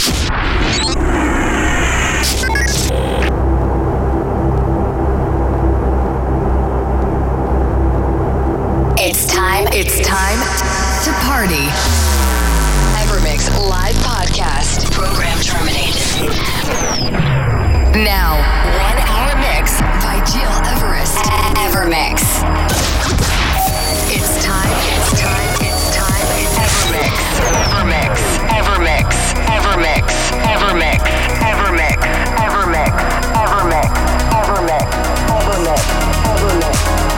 It's time to party. Evermix live podcast. Program terminated. Now, 1 hour mix by Gil Everest. Evermix. It's time. Evermix. Evermix. Evermix. Evermix. Evermix. Evermix. Evermix. Evermix. Evermix. Evermix.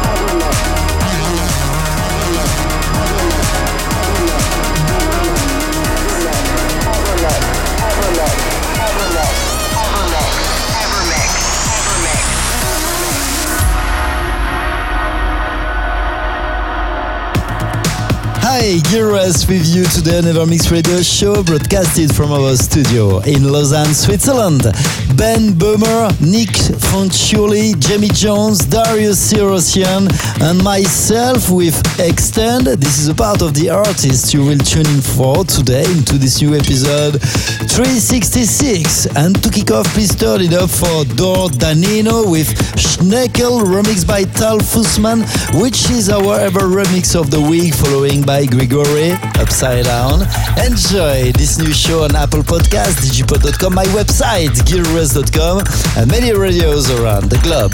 Hi, Gilres with you today on Evermix Radio Show, broadcasted from our studio in Lausanne, Switzerland. Ben Böhmer, Nick Fanciulli, Jamie Jones, Darius Syrossian, and myself with Extend. This is a part of the artists you will tune in for today into this new episode 366. And to kick off, please turn it up for Dor Danino with Schneckel, remixed by Tal Fussman, which is our ever remix of the week, following by Grigori, Upside Down. Enjoy this new show on Apple Podcasts, digipod.com, my website, gilres.com, and many radios around the globe.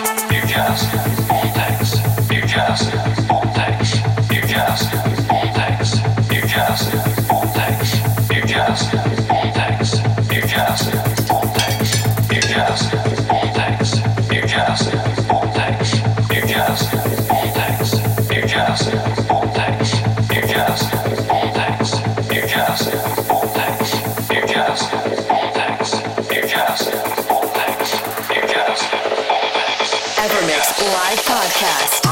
Newcastle, all thanks. Live podcast.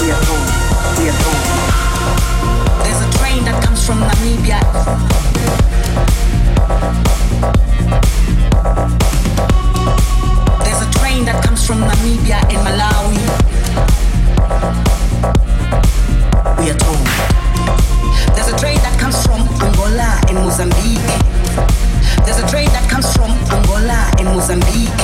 There's a train that comes from Namibia. There's a train that comes from Namibia in Malawi. We are told. There's a train that comes from Angola in Mozambique. There's a train that comes from Angola in Mozambique.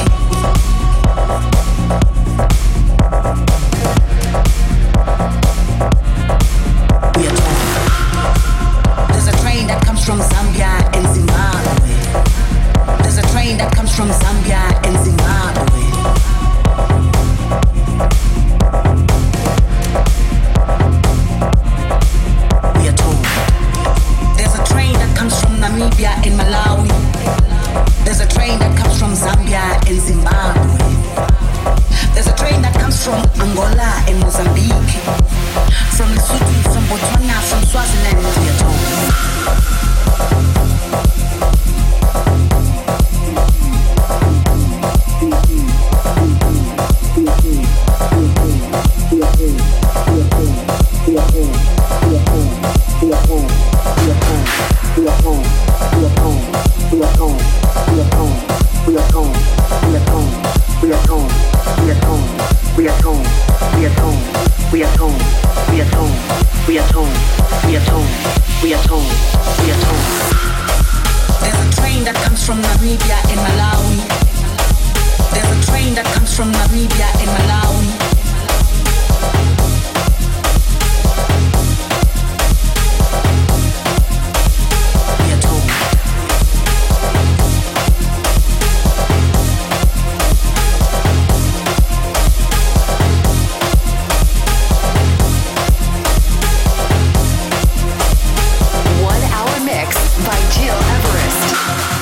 We are told. There's a train that comes from Zambia and Zimbabwe. There's a train that comes from Zambia and Zimbabwe. We are told. There's a train that comes from Namibia and Malawi. There's a train that comes from Zambia and Zimbabwe. There's a train that comes from Angola and Mozambique. From Lesotho, from Botswana, from Swaziland, we are told. There's a train that comes from Namibia and Malawi. There's a train that comes from Namibia and Malawi. We are told. Mix by Gil Everest.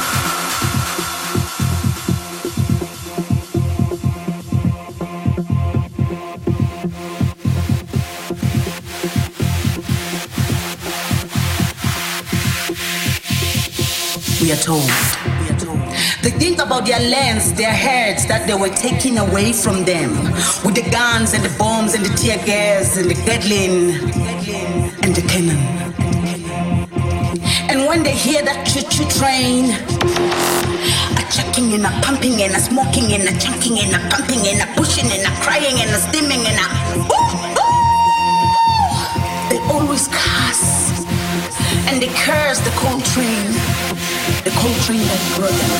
We are told. They think about their lands, their herds that they were taking away from them with the guns and the bombs and the tear gas and the Gatling and the cannon. And when they hear that choo-choo train, a chucking and a pumping and a smoking and a chunking and a pumping and a pushing and a crying and a steaming and a they always curse. And they curse the coal train that brought them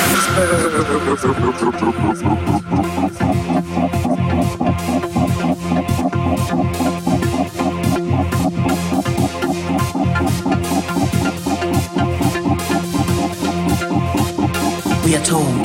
to Johannesburg. We are told.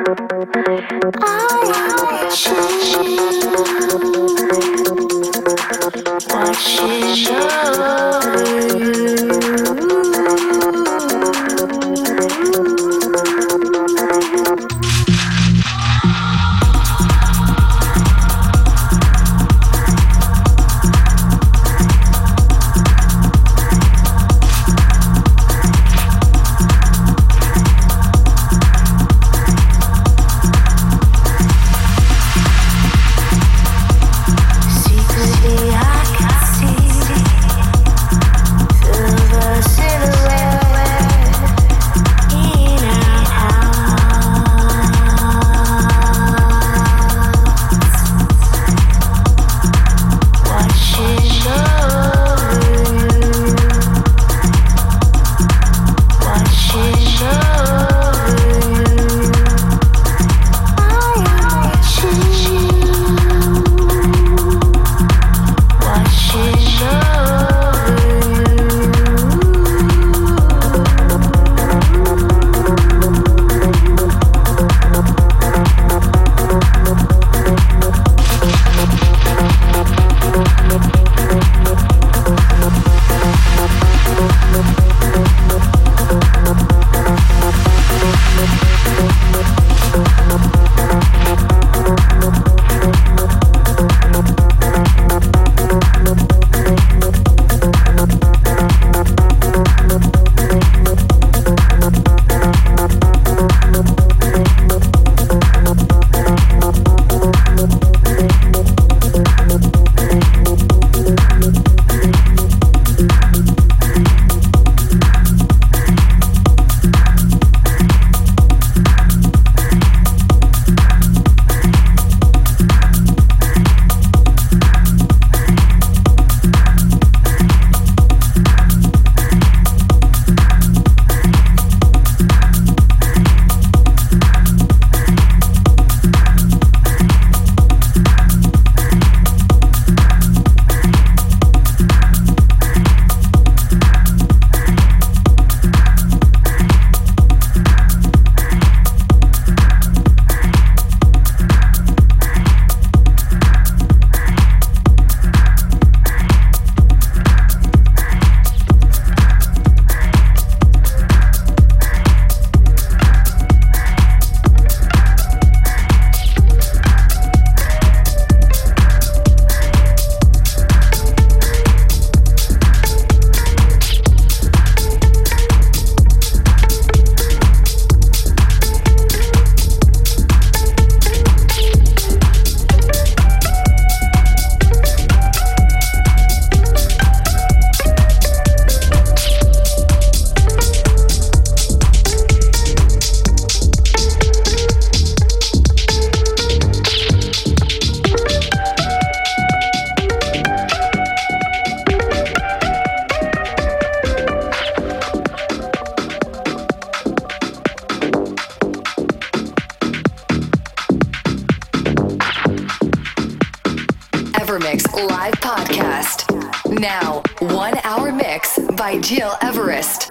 Evermix live podcast. Now, 1 hour mix by Gil Everest.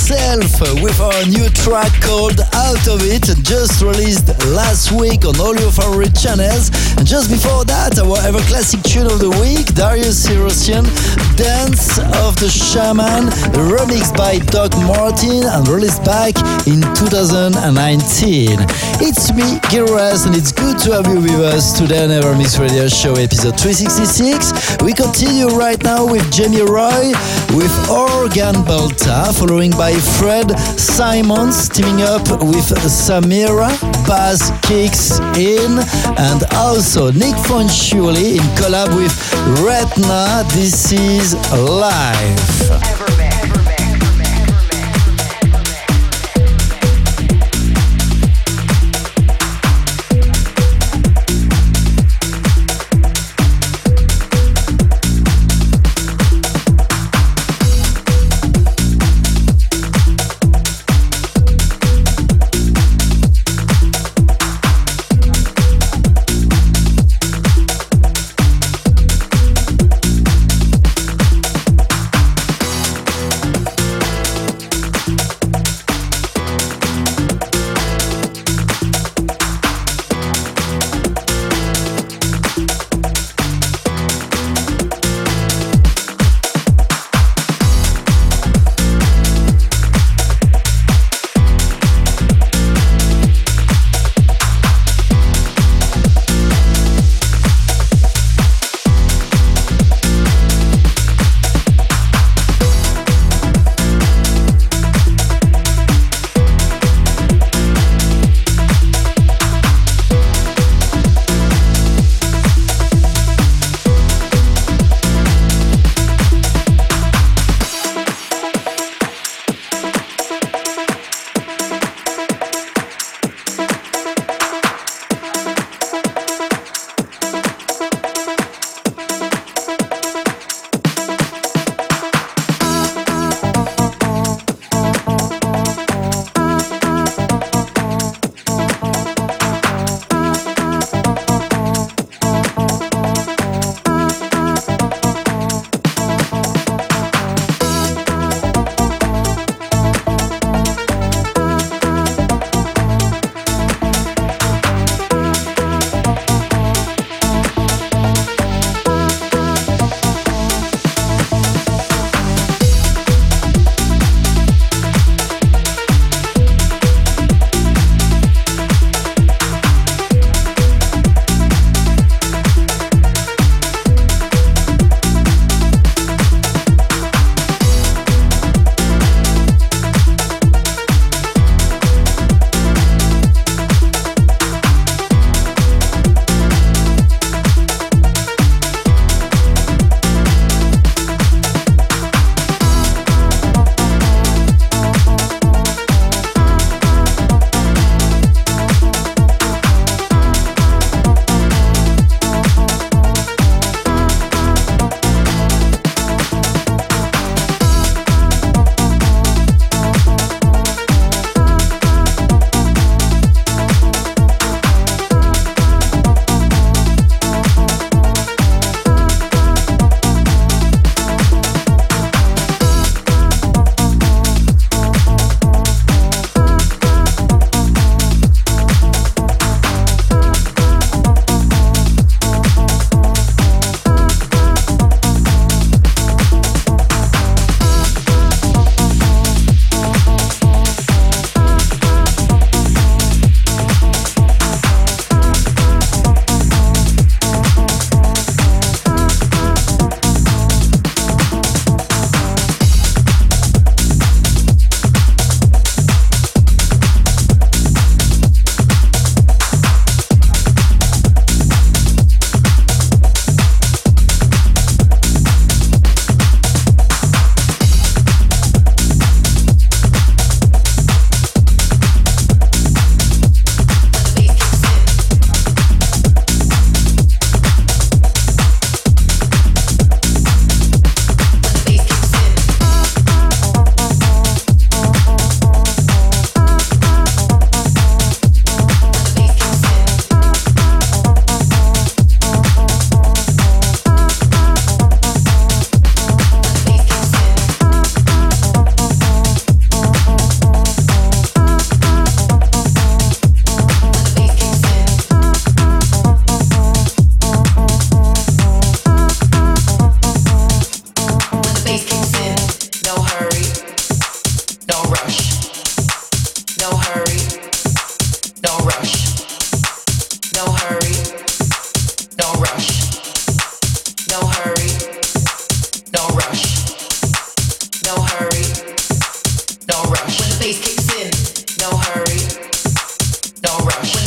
herself with our new track called Out of It, just released last week on all your favorite channels. And just before that, our ever classic tune of the week, Darius Syrossian, Dance of the Shaman, remixed by Doc Martin and released back in 2019. It's me, Gil Everest, and it's good to have you with us today on Evermix Radio Show episode 366. We continue right now with Jamie Roy with Organ Balta, following by Fred Simons teaming up with Samira, Bass Kicks In, and also Nick Fanciulli in collab with Retna. This is Live.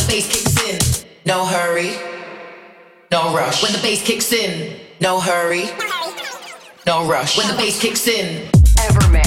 bass kicks in, no hurry, no rush. When the bass kicks in, no hurry, no rush. When the bass kicks in, Evermix.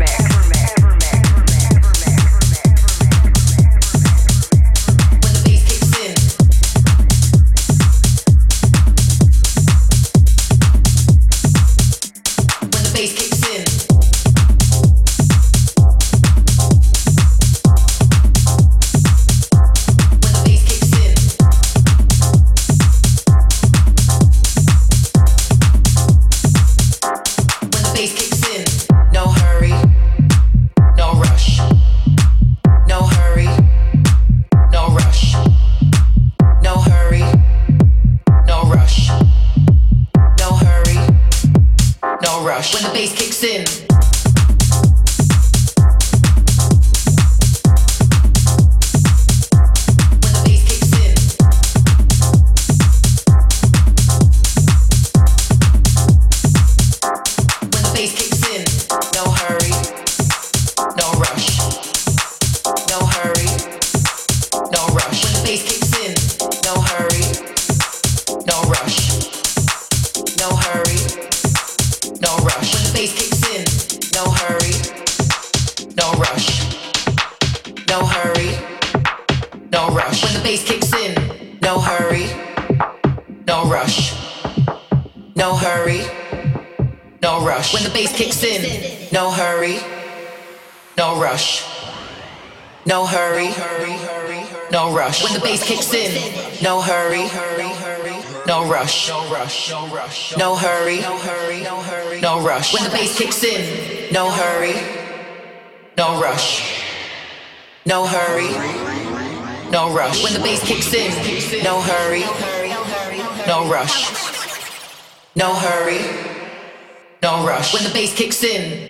When the bass kicks in, no hurry, no rush. No hurry, no rush. When the bass kicks in, no hurry, no rush. No hurry, no rush. When the bass kicks in, no hurry, no rush. No hurry, no rush. When the bass kicks in, no hurry, no rush. No hurry, no rush. When the bass kicks in.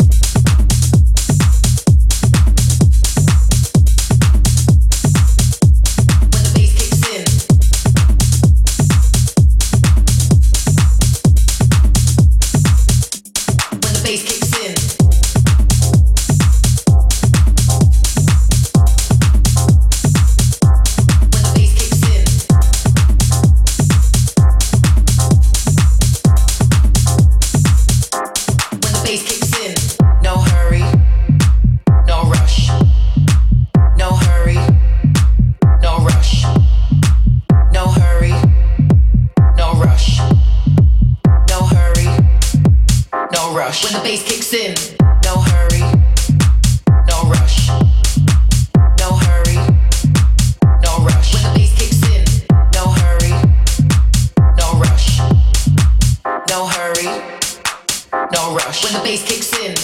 When the bass kicks in, no hurry, no rush. No hurry, no rush. When the bass kicks in, no hurry, no rush. No hurry, no rush. When the bass kicks in.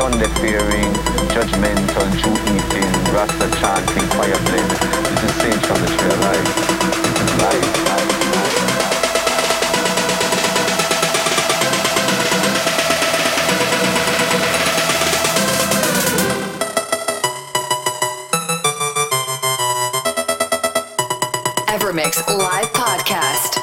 Sunday fearing, judgmental, Jew eating, Rasta chanting, fire blend. This is Sage from the Tree of Life. Life. Evermix Live Podcast.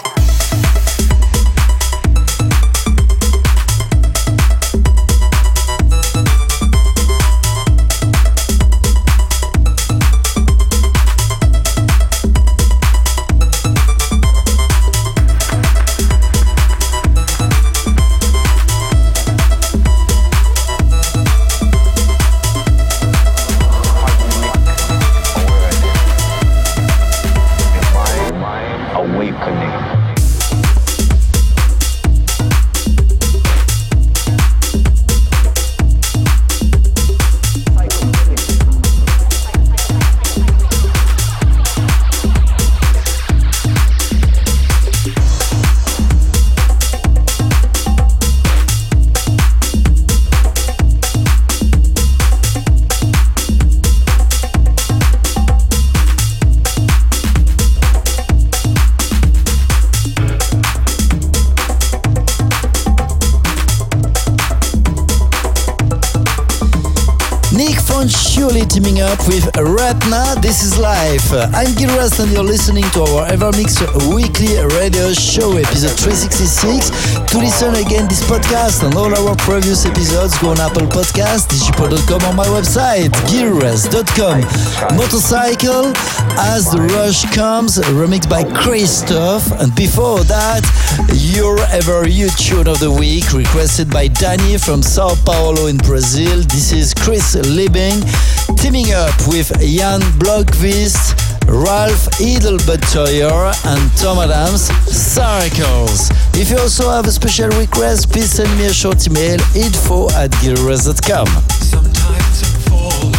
Surely teaming up with Ratna. This is Life. I'm Gil Rust and you're listening to our Evermix weekly radio show, episode 366. To listen again this podcast and all our previous episodes, go on Apple Podcast, digipod.com, on my website, gilrust.com. Motorcycle, As the Rush Comes, remixed by Christoph. And before that, Your Ever You tune of the week, requested by Danny from Sao Paulo in Brazil. This is Chris Liebing, teaming up with Jan Blomqvist, Ralph Edelbuttoyer and Tom Adams, Circles. If you also have a special request, please send me a short email, info@gilrust.com. Sometimes I'm falling.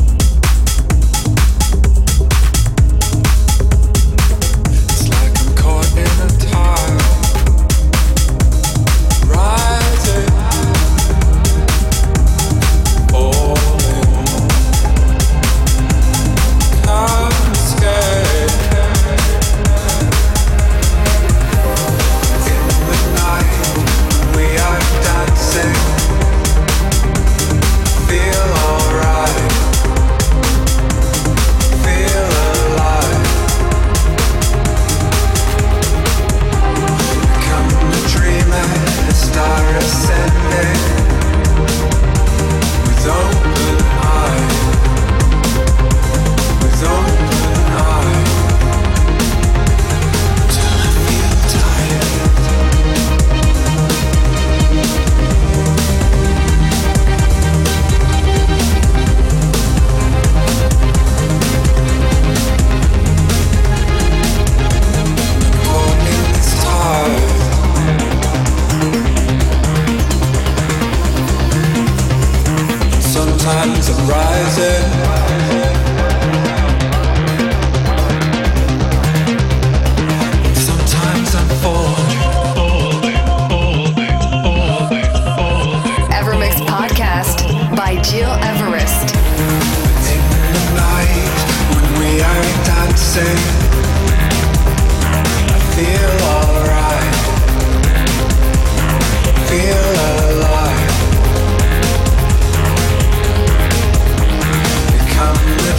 It's like I'm caught in a tide. Rising, falling. Can't escape. In the night, we are dancing. Feel alright. Feel alive. Become a dreamer, a star ascending. With open eyes. With open eyes. Till I feel tired. Caught in this tide. Sometimes I'm rising. Sometimes I'm falling. Evermix Podcast by Jill Everest. In the night when we are dancing, I feel alright. Feel alive. Become the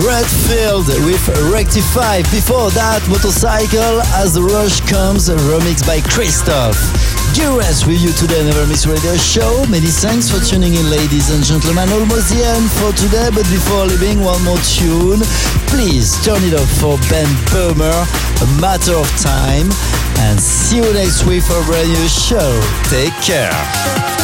Redfield with Rectify. Before that, Motorcycle As the Rush Comes, remixed by Christoph. Gearres with you today, Never Miss Radio Show. Many thanks for tuning in, ladies and gentlemen. Almost the end for today, but before leaving, one more tune. Please turn it up for Ben Böhmer, A Matter of Time. And see you next week for a brand new show. Take care.